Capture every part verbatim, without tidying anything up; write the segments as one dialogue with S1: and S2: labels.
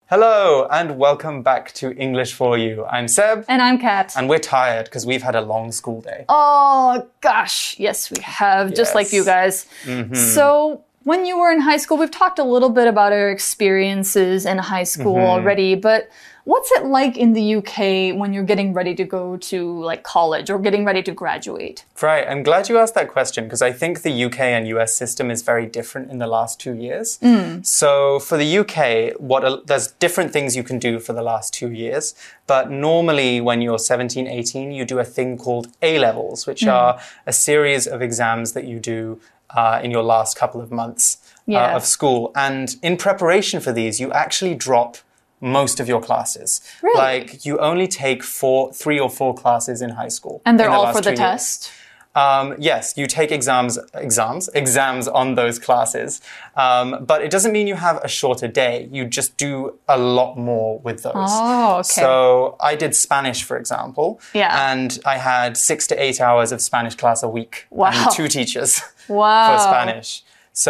S1: Hello and welcome back to English for You. I'm Seb.
S2: And I'm Kat.
S1: And we're tired because we've had a long school day.
S2: Oh, gosh. Yes, we have.
S1: Yes.
S2: Just like you guys.
S1: Mm-hmm.
S2: So, when you were in high school, we've talked a little bit about our experiences in high school mm-hmm. already, but what's it like in the U K when you're getting ready to go to like college or getting ready to graduate?
S1: Right. I'm glad you asked that question because I think the U K and U S system is very different in the last two years. Mm. So for the U K, what a, there's different things you can do for the last two years. But normally when you're seventeen, eighteen, you do a thing called A-levels, which mm. are a series of exams that you do uh, in your last couple of months
S2: yeah.
S1: uh, of school. And in preparation for these, you actually drop most of your classes.
S2: Really?
S1: Like you only take four, three or four classes in high school.
S2: And they're
S1: the
S2: all for the
S1: years.
S2: test?
S1: Um, yes, you take exams, exams, exams on those classes. Um, but it doesn't mean you have a shorter day. You just do a lot more with those.
S2: Oh, okay.
S1: So I did Spanish, for example.
S2: Yeah.
S1: And I had six to eight hours of Spanish class a week.
S2: Wow.
S1: And two teachers
S2: wow.
S1: for Spanish.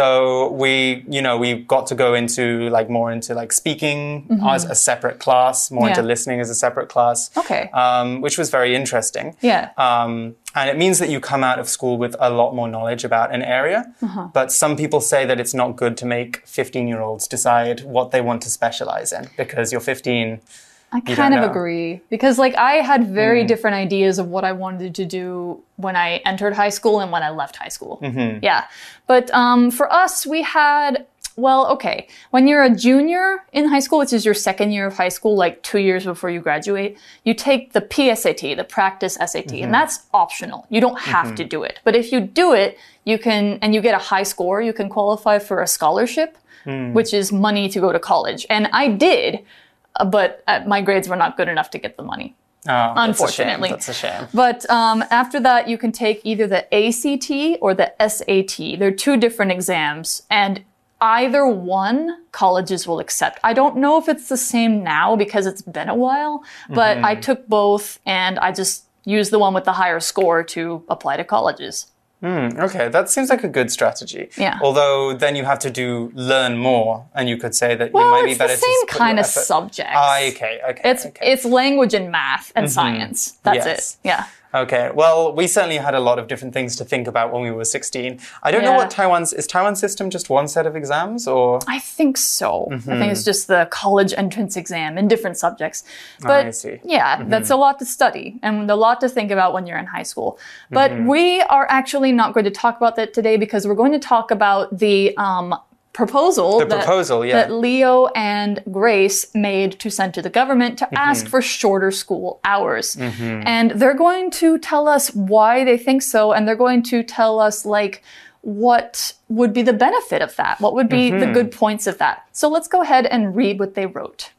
S1: So we, you know, we got to go into like more into like speaking mm-hmm. as a separate class, more yeah. into listening as a separate class.
S2: Okay.
S1: Um, which was very interesting.
S2: Yeah.
S1: Um, and it means that you come out of school with a lot more knowledge about an area. Uh-huh. But some people say that it's not good to make fifteen-year-olds decide what they want to specialize in because you're fifteen.
S2: I kind of agree because like I had very mm. different ideas of what I wanted to do when I entered high school and when I left high school.
S1: Mm-hmm.
S2: Yeah. But um, for us, we had, well, okay. When you're a junior in high school, which is your second year of high school, like two years before you graduate, you take the P S A T, the practice S A T, mm-hmm. and that's optional. You don't have mm-hmm. to do it. But if you do it, you can, and you get a high score, you can qualify for a scholarship, mm. which is money to go to college. And I did. But uh, my grades were not good enough to get the money.
S1: Oh,
S2: unfortunately.
S1: That's a shame. That's a shame.
S2: But um, after that, you can take either the A C T or the S A T. They're two different exams. And either one, colleges will accept. I don't know if it's the same now because it's been a while. But mm-hmm. I took both and I just used the one with the higher score to apply to colleges.
S1: Mm, okay, that seems like a good strategy.
S2: Yeah.
S1: Although then you have to do learn more, and you could say that
S2: well,
S1: you might be better to
S2: it's the same kind of subjects.
S1: Ah, okay, okay.
S2: It's
S1: okay.
S2: it's language and math and mm-hmm. science. That's
S1: yes.
S2: it. Yeah.
S1: Okay. Well, we certainly had a lot of different things to think about when we were sixteen. I don't
S2: yeah.
S1: know what Taiwan's is. Taiwan's system just one set of exams, or
S2: I think so.
S1: Mm-hmm.
S2: I think it's just the college entrance exam in different subjects. But
S1: oh, I see.
S2: yeah, mm-hmm. that's a lot to study and a lot to think about when you're in high school. But mm-hmm. we are actually not going to talk about that today because we're going to talk about the um, proposal,
S1: the
S2: that,
S1: proposal yeah.
S2: that Leo and Grace made to send to the government to mm-hmm. ask for shorter school hours.
S1: Mm-hmm.
S2: And they're going to tell us why they think so, and they're going to tell us like what would be the benefit of that, what would be mm-hmm. the good points of that. So let's go ahead and read what they wrote.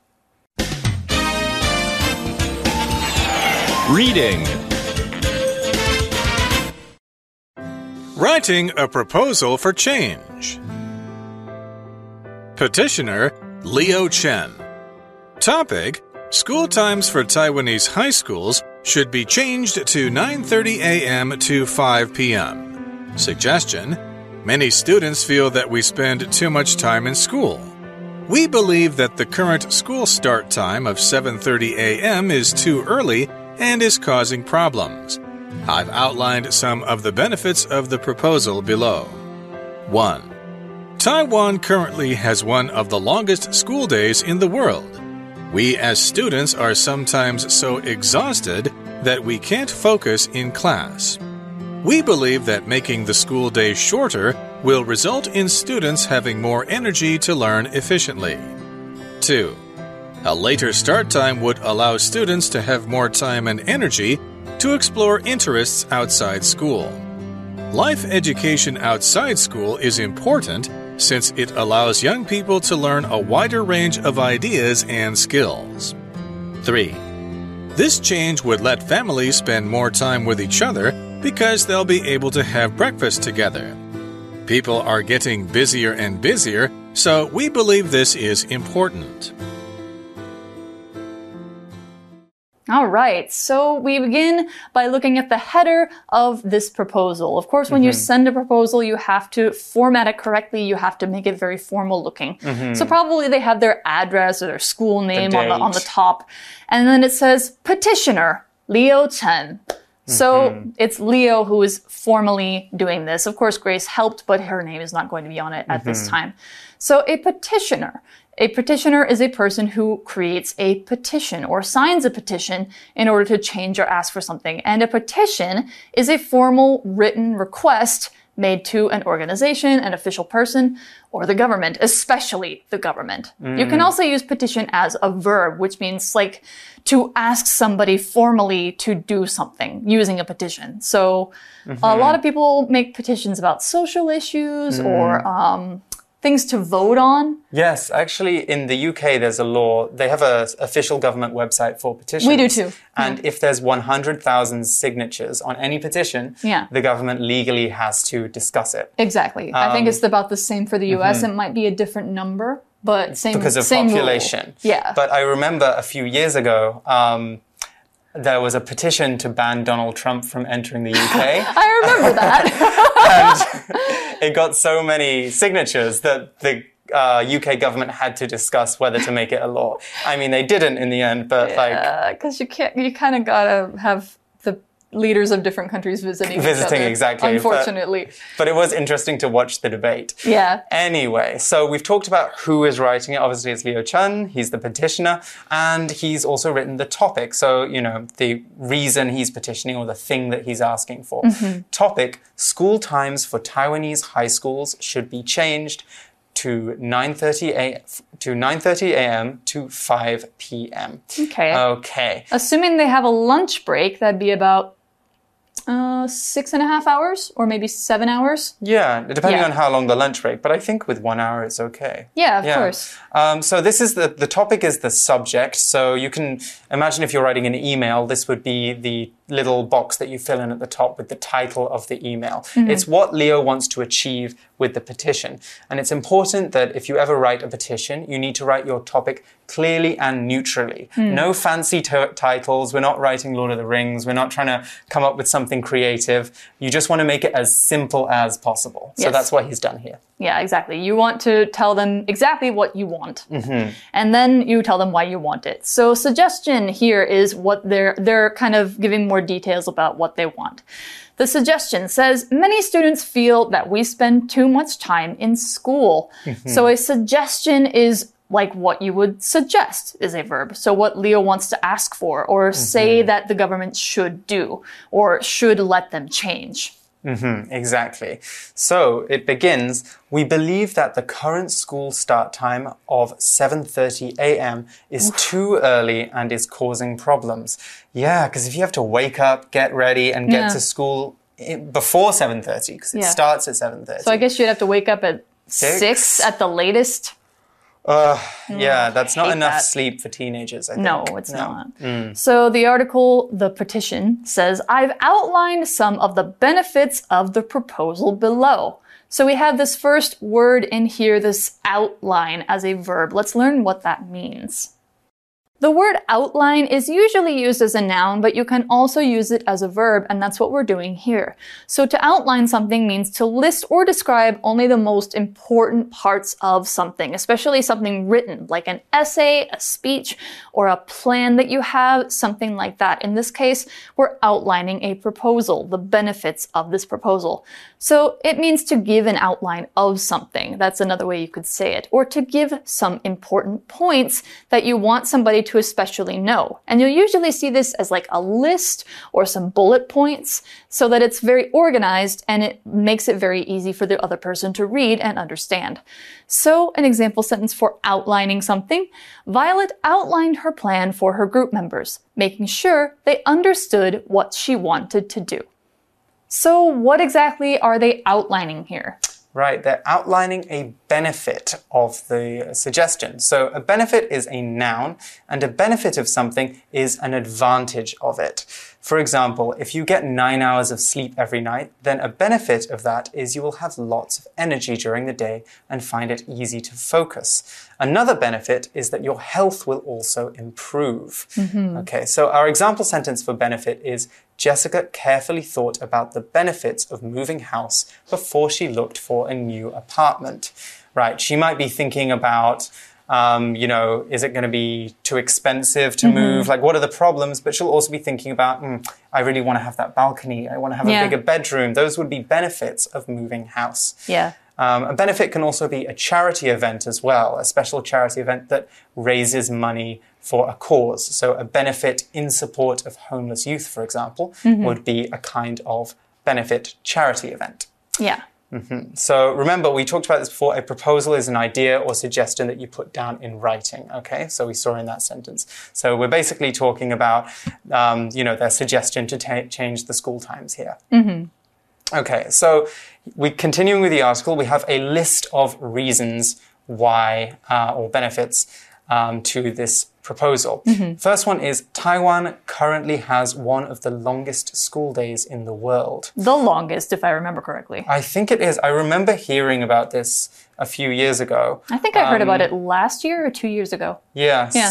S3: Reading. Writing a proposal for change. Petitioner, Leo Chen. Topic: School times for Taiwanese high schools should be changed to nine thirty a m to five p m Suggestion: Many students feel that we spend too much time in school. We believe that the current school start time of seven thirty a m is too early and is causing problems. I've outlined some of the benefits of the proposal below. one. Taiwan currently has one of the longest school days in the world. We as students are sometimes so exhausted that we can't focus in class. We believe that making the school day shorter will result in students having more energy to learn efficiently. two. A later start time would allow students to have more time and energy to explore interests outside school. Life education outside school is important since it allows young people to learn a wider range of ideas and skills. three. This change would let families spend more time with each other because they'll be able to have breakfast together. People are getting busier and busier, so we believe this is important.
S2: All right, so we begin by looking at the header of this proposal. Of course, when mm-hmm. you send a proposal, you have to format it correctly. You have to make it very formal looking. Mm-hmm. So probably they have their address or their school name the on, the, on the top. And then it says petitioner, Leo Chen. So mm-hmm. it's Leo who is formally doing this. Of course, Grace helped, but her name is not going to be on it at mm-hmm. this time. So a petitioner. A petitioner is a person who creates a petition or signs a petition in order to change or ask for something. And a petition is a formal written request made to an organization, an official person, or the government, especially the government. Mm. You can also use petition as a verb, which means like to ask somebody formally to do something using a petition. So mm-hmm. a lot of people make petitions about social issues mm. or um, things to vote on.
S1: Yes, actually in the U K there's a law. They have an official government website for petitions.
S2: We do too.
S1: And yeah. if there's one hundred thousand signatures on any petition, yeah. the government legally has to discuss it.
S2: Exactly. Um, I think it's about the same for the U S. Mm-hmm. It might be a different number, but same
S1: because of
S2: same
S1: population.
S2: Rule. Yeah.
S1: But I remember a few years ago, um, there was a petition to ban Donald Trump from entering the U K.
S2: I remember that.
S1: And it got so many signatures that the uh, U K government had to discuss whether to make it a law. I mean, they didn't in the end, but
S2: yeah,
S1: like...
S2: Yeah, because you can't, you kind of gotta have the leaders of different countries visiting
S1: Visiting,
S2: each other,
S1: exactly.
S2: unfortunately.
S1: But, but it was interesting to watch the debate.
S2: Yeah.
S1: Anyway, so we've talked about who is writing it. Obviously, it's Leo Chen. He's the petitioner. And he's also written the topic. So, you know, the reason he's petitioning or the thing that he's asking for. Mm-hmm. Topic, school times for Taiwanese high schools should be changed to nine thirty a m to five p m
S2: Okay.
S1: Okay.
S2: Assuming they have a lunch break, that'd be about uh, six and a half hours or maybe seven hours.
S1: Yeah, depending
S2: yeah.
S1: on how long the lunch break. But I think with one hour, it's okay.
S2: Yeah, of yeah. course.
S1: Um, so this is the, the topic is the subject. So you can imagine if you're writing an email, this would be the little box that you fill in at the top with the title of the email. Mm-hmm. It's what Leo wants to achieve with the petition. And it's important that if you ever write a petition, you need to write your topic clearly and neutrally. Mm. No fancy t- titles. We're not writing Lord of the Rings. We're not trying to come up with something creative. You just want to make it as simple as possible. So yes. that's what he's done here.
S2: Yeah, exactly. You want to tell them exactly what you want. Mm-hmm. And then you tell them why you want it. So suggestion here is what they're, they're kind of giving more details about what they want. The suggestion says, many students feel that we spend too much time in school. Mm-hmm. So a suggestion is like what you would suggest is a verb. So what Leo wants to ask for or mm-hmm. say that the government should do or should let them change.
S1: Mm-hmm, exactly. So it begins, we believe that the current school start time of seven thirty a m is too early and is causing problems. Yeah, because if you have to wake up, get ready, and get yeah. to school before seven thirty, because it yeah. starts at seven thirty.
S2: So I guess you'd have to wake up at six, six at the latest.
S1: Uh, yeah, that's not enough that. sleep for teenagers, I think.
S2: No, it's no. not. Mm. So the article, the petition, says, I've outlined some of the benefits of the proposal below. So we have this first word in here, this outline as a verb. Let's learn what that means. The word outline is usually used as a noun, but you can also use it as a verb, and that's what we're doing here. So to outline something means to list or describe only the most important parts of something, especially something written, like an essay, a speech, or a plan that you have, something like that. In this case, we're outlining a proposal, the benefits of this proposal. So it means to give an outline of something. That's another way you could say it. Or to give some important points that you want somebody to especially know. And you'll usually see this as like a list or some bullet points so that it's very organized and it makes it very easy for the other person to read and understand. So an example sentence for outlining something. Violet outlined her plan for her group members, making sure they understood what she wanted to do. So what exactly are they outlining here?
S1: Right, they're outlining a benefit of the suggestion. So a benefit is a noun, and a benefit of something is an advantage of it. For example, if you get nine hours of sleep every night, then a benefit of that is you will have lots of energy during the day and find it easy to focus. Another benefit is that your health will also improve. Mm-hmm. Okay, so our example sentence for benefit is, Jessica carefully thought about the benefits of moving house before she looked for a new apartment. Right, she might be thinking about, um, you know, is it going to be too expensive to mm-hmm. move? Like, what are the problems? But she'll also be thinking about, mm, I really want to have that balcony. I want to have yeah. a bigger bedroom. Those would be benefits of moving house.
S2: Yeah.
S1: Um, a benefit can also be a charity event as well, a special charity event that raises money for a cause. So a benefit in support of homeless youth, for example, mm-hmm. would be a kind of benefit charity event.
S2: Yeah.
S1: Mm-hmm. So remember, we talked about this before. A proposal is an idea or suggestion that you put down in writing. Okay, so we saw in that sentence. So we're basically talking about, um, you know, their suggestion to ta- change the school times here.
S2: Mm-hmm.
S1: Okay, so we continuing with the article, we have a list of reasons why uh, or benefits um, to this proposal. Mm-hmm. First one is Taiwan currently has one of the longest school days in the world.
S2: The longest, if I remember correctly.
S1: I think it is. I remember hearing about this a few years ago.
S2: I think I heard um, about it last year or two years ago.
S1: Yes.
S2: Yeah.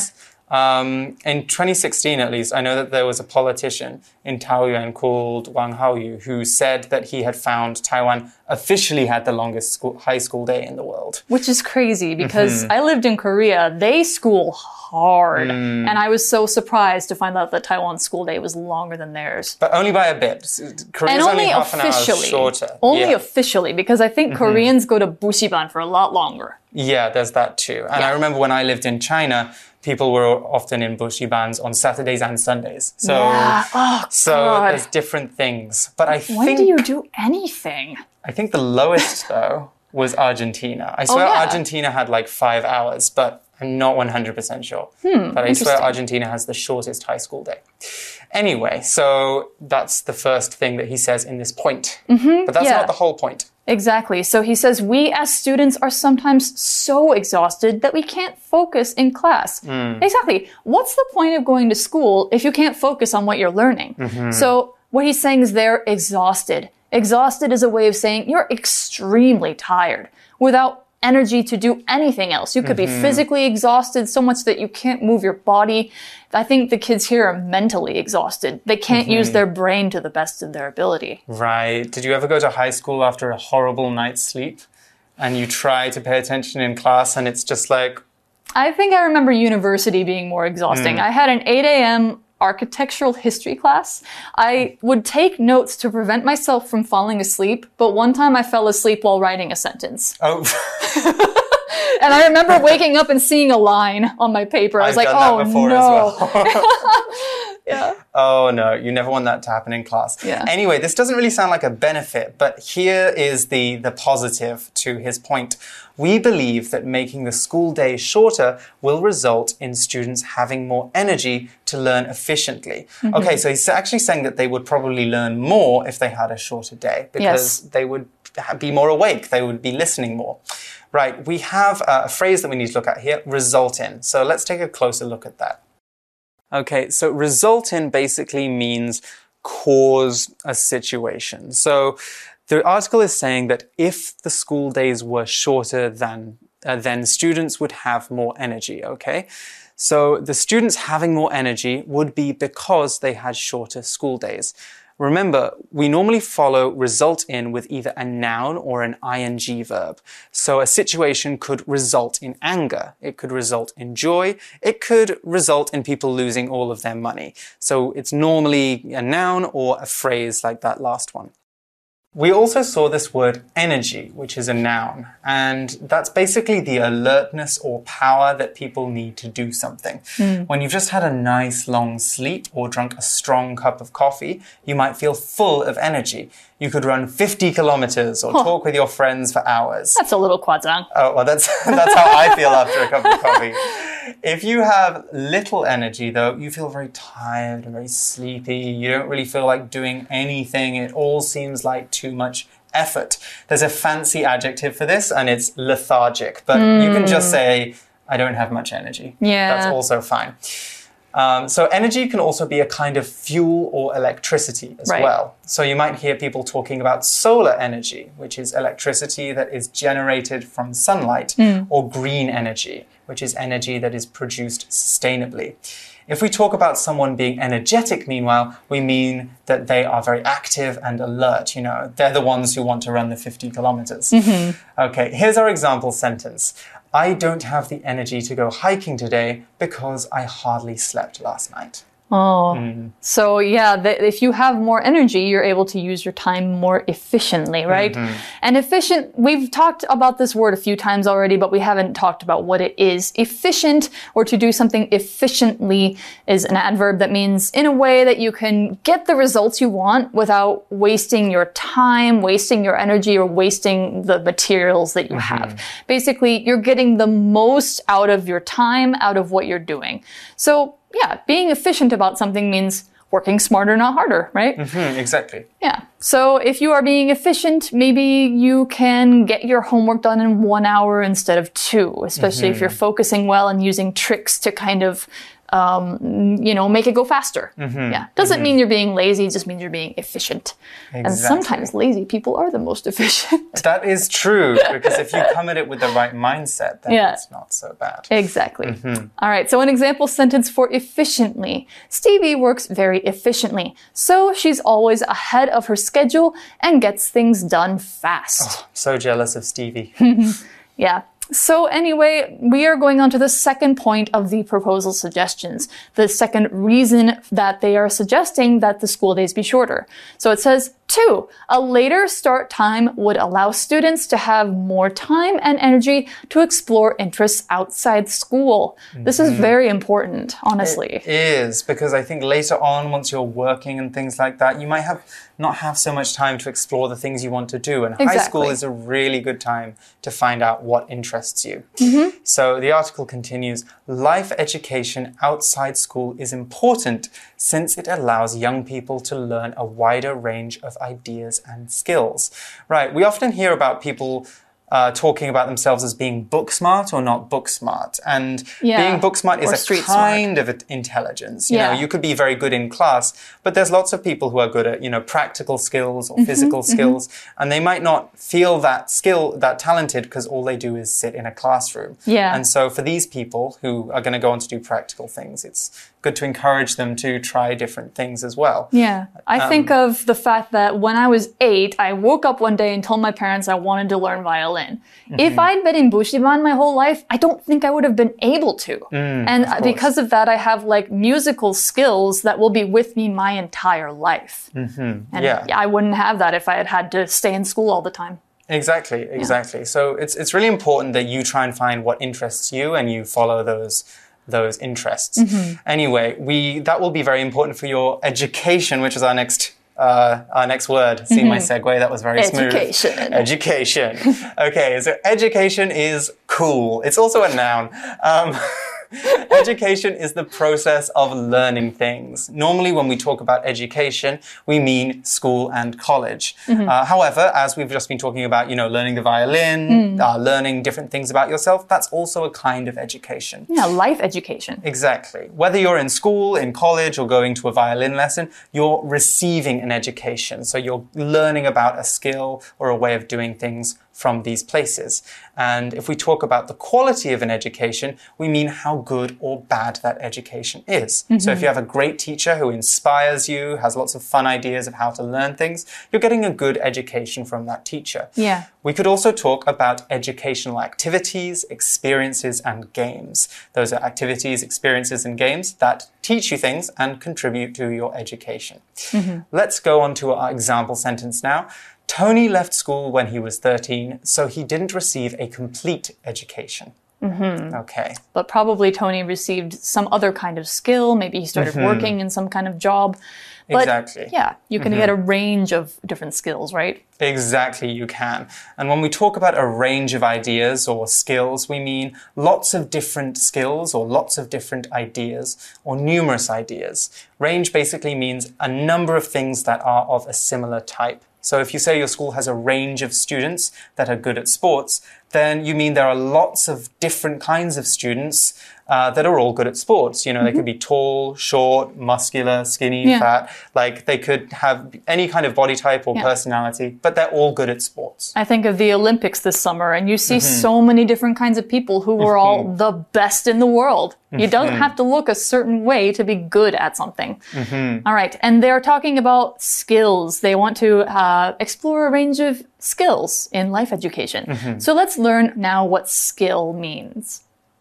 S1: Um, in twenty sixteen, at least, I know that there was a politician in Taoyuan called Wang Haoyu who said that he had found Taiwan officially had the longest school, high school day in the world.
S2: Which is crazy because mm-hmm. I lived in Korea. They school hard. Mm. And I was so surprised to find out that Taiwan's school day was longer than theirs.
S1: But only by a bit. Korea's
S2: and only,
S1: only half an hour shorter.
S2: Only
S1: yeah.
S2: officially, because I think mm-hmm. Koreans go to Bushiban for a lot longer.
S1: Yeah, there's that too. And
S2: yeah.
S1: I remember when I lived in China, people were often in Bushibans on Saturdays and Sundays. So,
S2: yeah. oh,
S1: so
S2: God.
S1: there's different things. But I
S2: when
S1: think...
S2: do you do anything?
S1: I think the lowest, though, was Argentina. I swear
S2: oh, yeah.
S1: Argentina had like five hours, but I'm not one hundred percent sure.
S2: Hmm,
S1: but I swear Argentina has the shortest high school day. Anyway, so that's the first thing that he says in this point.
S2: Mm-hmm,
S1: but that's
S2: yeah.
S1: not the whole point.
S2: Exactly. So he says, we as students are sometimes so exhausted that we can't focus in class. Mm. Exactly. What's the point of going to school if you can't focus on what you're learning? Mm-hmm. So what he's saying is they're exhausted. Exhausted is a way of saying you're extremely tired without energy to do anything else. You could mm-hmm. be physically exhausted so much that you can't move your body. I think the kids here are mentally exhausted. They can't mm-hmm. use their brain to the best of their ability.
S1: Right. Did you ever go to high school after a horrible night's sleep and you try to pay attention in class and it's just like...
S2: I think I remember university being more exhausting. Mm. I had an eight a.m. architectural history class. I would take notes to prevent myself from falling asleep, but one time I fell asleep while writing a sentence.
S1: Oh.
S2: And I remember waking up and seeing a line on my paper. I was
S1: I've
S2: like,
S1: done
S2: oh
S1: that before
S2: no.
S1: As well.
S2: Yeah.
S1: Oh no, you never want that to happen in class.
S2: Yeah.
S1: Anyway, this doesn't really sound like a benefit, but here is the, the positive to his point. We believe that making the school day shorter will result in students having more energy to learn efficiently. Mm-hmm. Okay, so he's actually saying that they would probably learn more if they had a shorter day because
S2: yes.
S1: they would be more awake, they would be listening more. Right, we have a phrase that we need to look at here, result in. So let's take a closer look at that. Okay, so result in basically means cause a situation. So the article is saying that if the school days were shorter, than, uh, then students would have more energy, okay? So the students having more energy would be because they had shorter school days. Remember, we normally follow result in with either a noun or an ing verb. So a situation could result in anger. It could result in joy. It could result in people losing all of their money. So it's normally a noun or a phrase like that last one. We also saw this word energy, which is a noun, and that's basically the alertness or power that people need to do something. Mm. When you've just had a nice long sleep or drunk a strong cup of coffee, you might feel full of energy. You could run fifty kilometers or huh. talk with your friends for hours.
S2: That's a little quadzang.
S1: Oh, well, that's, that's how I feel after a cup of coffee. If you have little energy, though, you feel very tired and very sleepy. You don't really feel like doing anything. It all seems like too much effort. There's a fancy adjective for this, and it's lethargic. But mm. you can just say, I don't have much energy.
S2: Yeah.
S1: That's also fine. Um, so energy can also be a kind of fuel or electricity as
S2: right.
S1: well. So you might hear people talking about solar energy, which is electricity that is generated from sunlight, mm. or green energy, which is energy that is produced sustainably. If we talk about someone being energetic, meanwhile, we mean that they are very active and alert. You know, they're the ones who want to run the fifty kilometers. Mm-hmm. Okay, here's our example sentence. I don't have the energy to go hiking today because I hardly slept last night.
S2: Oh, mm. so yeah, the, if you have more energy, you're able to use your time more efficiently, right? Mm-hmm. And efficient, we've talked about this word a few times already, but we haven't talked about what it is. Efficient, or to do something efficiently, is an adverb that means in a way that you can get the results you want without wasting your time, wasting your energy, or wasting the materials that you mm-hmm. have. Basically, you're getting the most out of your time, out of what you're doing. So, yeah, being efficient about something means working smarter, not harder, right?
S1: Mm-hmm, exactly.
S2: Yeah. So if you are being efficient, maybe you can get your homework done in one hour instead of two, especially mm-hmm. if you're focusing well and using tricks to kind of, um, you know, make it go faster. Mm-hmm. Yeah. Doesn't mm-hmm. mean you're being lazy, it just means you're being efficient. Exactly. And sometimes lazy people are the most efficient.
S1: That is true, because if you come at it with the right mindset, then yeah. it's not so bad.
S2: Exactly. Mm-hmm. All right. So an example sentence for efficiently. Stevie works very efficiently. So she's always ahead of her schedule and gets things done fast.
S1: Oh, so jealous of Stevie.
S2: Yeah. So anyway, we are going on to the second point of the proposal suggestions, the second reason that they are suggesting that the school days be shorter. So it says, two, a later start time would allow students to have more time and energy to explore interests outside school. Mm-hmm. This is very important, honestly.
S1: It is, because I think later on, once you're working and things like that, you might have not have so much time to explore the things you want to do. And
S2: exactly.
S1: high school is a really good time to find out what interests you.
S2: Mm-hmm.
S1: So the article continues, life education outside school is important since it allows young people to learn a wider range of ideas and skills. Right, we often hear about people Uh, talking about themselves as being book smart or not book smart. And
S2: yeah.
S1: being book smart is
S2: or
S1: a kind
S2: smart.
S1: of intelligence. You
S2: yeah.
S1: know, you could be very good in class, but there's lots of people who are good at, you know, practical skills or mm-hmm, physical mm-hmm. skills, and they might not feel that skill, that talented, because all they do is sit in a classroom.
S2: Yeah.
S1: And so for these people who are going to go on to do practical things, it's good to encourage them to try different things as well.
S2: Yeah. I um, think of the fact that when I was eight, I woke up one day and told my parents I wanted to learn violin. Mm-hmm. If I'd been in Bushiban my whole life, I don't think I would have been able to.
S1: Mm,
S2: and
S1: of
S2: because of that, I have like musical skills that will be with me my entire life.
S1: Mm-hmm.
S2: And
S1: yeah.
S2: I wouldn't have that if I had had to stay in school all the time.
S1: Exactly, exactly. Yeah. So it's it's really important that you try and find what interests you and you follow those those interests.
S2: Mm-hmm.
S1: Anyway, we that will be very important for your education, which is our next Uh, our next word. See
S2: mm-hmm.
S1: my segue? That was very smooth.
S2: Education.
S1: Education. Okay, so education is cool. It's also a noun. Um, education is the process of learning things. Normally, when we talk about education, we mean school and college. Mm-hmm. Uh, however, as we've just been talking about, you know, learning the violin, mm. uh, learning different things about yourself, that's also a kind of education.
S2: Yeah, life education.
S1: Exactly. Whether you're in school, in college, or going to a violin lesson, you're receiving an education. So you're learning about a skill or a way of doing things from these places. And if we talk about the quality of an education, we mean how good or bad that education is. Mm-hmm. So if you have a great teacher who inspires you, has lots of fun ideas of how to learn things, you're getting a good education from that teacher.
S2: Yeah.
S1: We could also talk about educational activities, experiences, and games. Those are activities, experiences, and games that teach you things and contribute to your education. Mm-hmm. Let's go on to our example sentence now. Tony left school when he was thirteen, so he didn't receive a complete education.
S2: Mm-hmm.
S1: Okay.
S2: But probably Tony received some other kind of skill. Maybe he started mm-hmm. working in some kind of job. But
S1: exactly.
S2: yeah, you can mm-hmm. get a range of different skills, right?
S1: Exactly, you can. And when we talk about a range of ideas or skills, we mean lots of different skills or lots of different ideas or numerous ideas. Range basically means a number of things that are of a similar type So if you say your school has a range of students that are good at sports, then you mean there are lots of different kinds of students uh, that are all good at sports. You know, mm-hmm. they could be tall, short, muscular, skinny, yeah. fat. Like they could have any kind of body type or yeah. personality, but they're all good at sports.
S2: I think of the Olympics this summer, and you see mm-hmm. so many different kinds of people who were mm-hmm. all the best in the world. You mm-hmm. don't have to look a certain way to be good at something. Mm-hmm. All right. And they're talking about skills. They want to uh, explore a range of skills in life education. Mm-hmm. So let's learn now what skill means.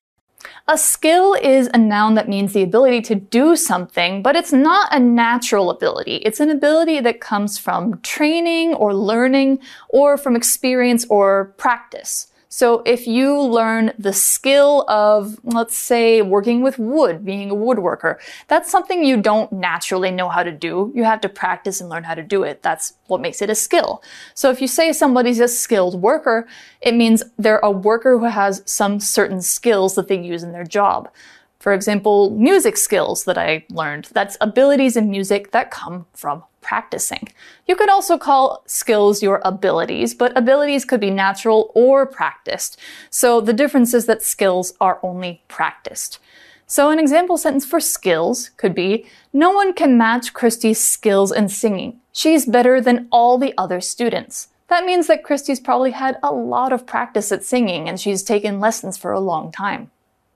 S2: A skill is a noun that means the ability to do something, but it's not a natural ability. It's an ability that comes from training or learning or from experience or practice. So if you learn the skill of, let's say, working with wood, being a woodworker, that's something you don't naturally know how to do. You have to practice and learn how to do it. That's what makes it a skill. So if you say somebody's a skilled worker, it means they're a worker who has some certain skills that they use in their job. For example, music skills that I learned. That's abilities in music that come from practicing. You could also call skills your abilities, but abilities could be natural or practiced. So the difference is that skills are only practiced. So an example sentence for skills could be, no one can match Christy's skills in singing. She's better than all the other students. That means that Christy's probably had a lot of practice at singing and she's taken lessons for a long time.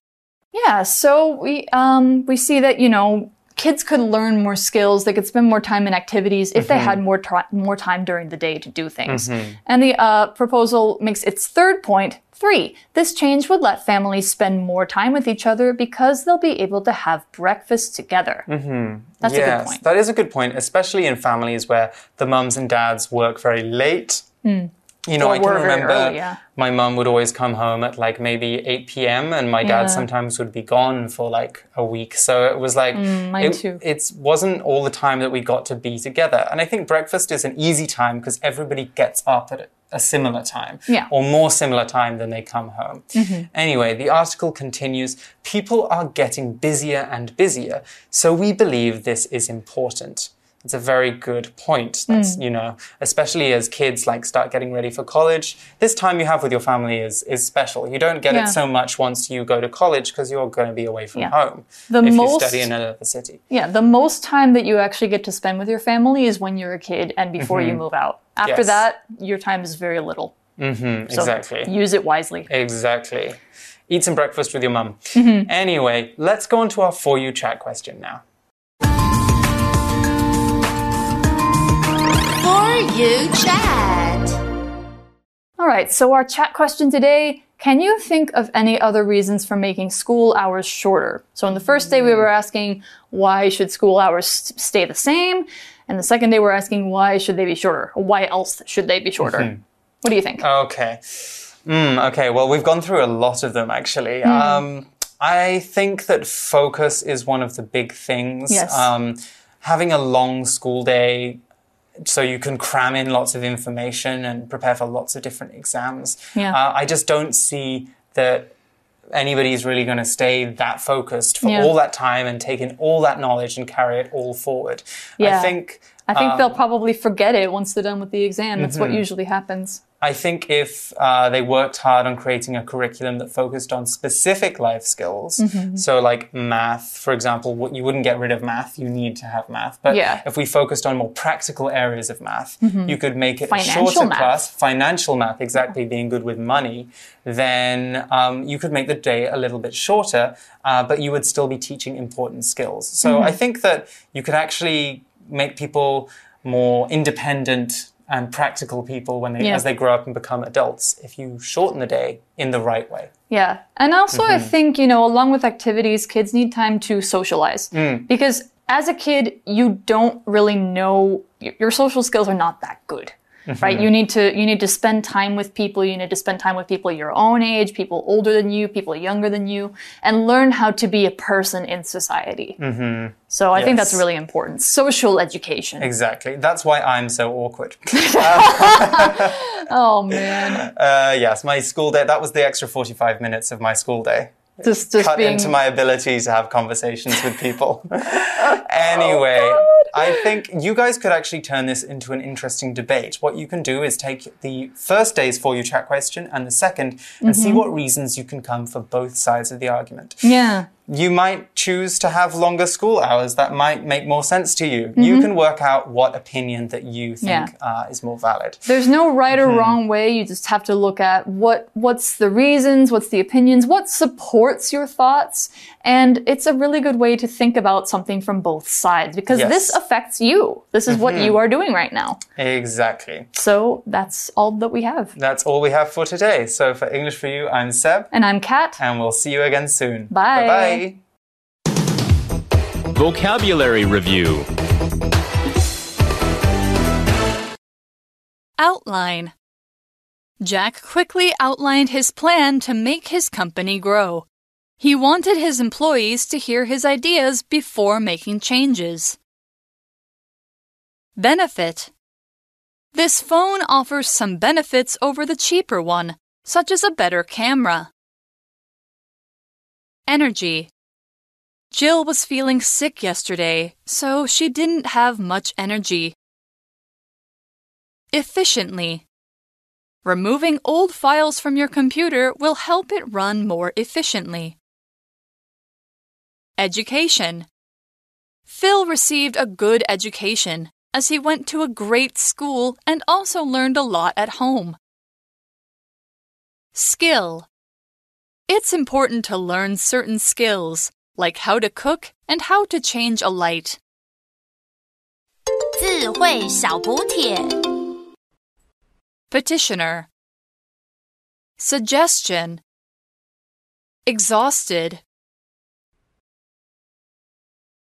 S2: Yeah, so we, um, we see that, you know, kids could learn more skills. They could spend more time in activities if mm-hmm. they had more, tra- more time during the day to do things. Mm-hmm. And the uh, proposal makes its third point, three. This change would let families spend more time with each other because they'll be able to have breakfast together. Mm-hmm. That's yes, a good point.
S1: That is a good point, especially in families where the mums and dads work very late. Mm. You know,
S2: or
S1: I can remember
S2: early, yeah.
S1: my mum would always come home at like maybe eight p.m. and my dad yeah. sometimes would be gone for like a week. So it was like,
S2: mm, mine
S1: it,
S2: too.
S1: it wasn't all the time that we got to be together. And I think breakfast is an easy time because everybody gets up at a similar time
S2: yeah.
S1: or more similar time than they come home. Mm-hmm. Anyway, the article continues, people are getting busier and busier. So we believe this is important. It's a very good point. That's, mm. you know, especially as kids like start getting ready for college, this time you have with your family is, is special. You don't get yeah. it so much once you go to college because you're going to be away from yeah. home
S2: the
S1: if
S2: most,
S1: you study in another city.
S2: Yeah, the most time that you actually get to spend with your family is when you're a kid and before mm-hmm. you move out. After yes. that, your time is very little.
S1: Mm-hmm,
S2: so
S1: exactly.
S2: use it wisely.
S1: Exactly. Eat some breakfast with your mum. Mm-hmm. Anyway, let's go on to our For You chat question now.
S4: For You chat.
S2: All right, so our chat question today, can you think of any other reasons for making school hours shorter? So in the first day we were asking why should school hours stay the same? And the second day we're asking why should they be shorter? Or why else should they be shorter? Mm-hmm. What do you think?
S1: Okay. Mm, okay, well, we've gone through a lot of them actually. Mm. Um, I think that focus is one of the big things.
S2: Yes.
S1: Um, having a long school day so you can cram in lots of information and prepare for lots of different exams.
S2: Yeah.
S1: Uh, I just don't see that anybody's really going to stay that focused for
S2: yeah.
S1: all that time and take in all that knowledge and carry it all forward.
S2: Yeah.
S1: I think...
S2: I think
S1: um,
S2: they'll probably forget it once they're done with the exam. That's mm-hmm. what usually happens.
S1: I think if uh, they worked hard on creating a curriculum that focused on specific life skills, mm-hmm. so like math, for example, what you wouldn't get rid of math, you need to have math. But
S2: yeah.
S1: if we focused on more practical areas of math, mm-hmm. you could make it
S2: financial
S1: a shorter
S2: math.
S1: class, financial math, exactly, being good with money, then um, you could make the day a little bit shorter, uh, but you would still be teaching important skills. So mm-hmm. I think that you could actually make people more independent and practical people when they,
S2: yeah.
S1: as they grow up and become adults, if you shorten the day in the right way.
S2: Yeah. And also mm-hmm. I think, you know, along with activities, kids need time to socialize. Mm. Because as a kid, you don't really know, your social skills are not that good. Mm-hmm. Right? You need to you need to spend time with people. You need to spend time with people your own age, people older than you, people younger than you, and learn how to be a person in society. Mm-hmm. So I yes. think that's really important. Social education.
S1: Exactly. That's why I'm so awkward.
S2: Oh, man.
S1: Uh, yes, my school day, that was the extra forty-five minutes of my school day.
S2: Just, just
S1: Cut
S2: being...
S1: into my ability to have conversations with people. Anyway,
S2: oh,
S1: I think you guys could actually turn this into an interesting debate. What you can do is take the first day's For You Chat question and the second and mm-hmm. see what reasons you can come for both sides of the argument.
S2: Yeah.
S1: You might choose to have longer school hours. That might make more sense to you. Mm-hmm. You can work out what opinion that you think yeah. uh, is more valid.
S2: There's no right or mm-hmm. wrong way. You just have to look at what what's the reasons, what's the opinions, what supports your thoughts. And it's a really good way to think about something from both sides because yes. this affects you. This is mm-hmm. what you are doing right now.
S1: Exactly.
S2: So that's all that we have.
S1: That's all we have for today. So for English for You, I'm Seb.
S2: And I'm Kat.
S1: And we'll see you again soon.
S2: Bye.
S1: Bye-bye.
S5: Vocabulary Review.
S6: Outline. Jack quickly outlined his plan to make his company grow. He wanted his employees to hear his ideas before making changes. Benefit. This phone offers some benefits over the cheaper one, such as a better camera. Energy. Jill was feeling sick yesterday, so she didn't have much energy. Efficiently. Removing old files from your computer will help it run more efficiently. Education. Phil received a good education, as he went to a great school and also learned a lot at home. Skill. It's important to learn certain skills, like how to cook and how to change a light.
S4: 智慧小補帖
S6: Petitioner. Suggestion. Exhausted.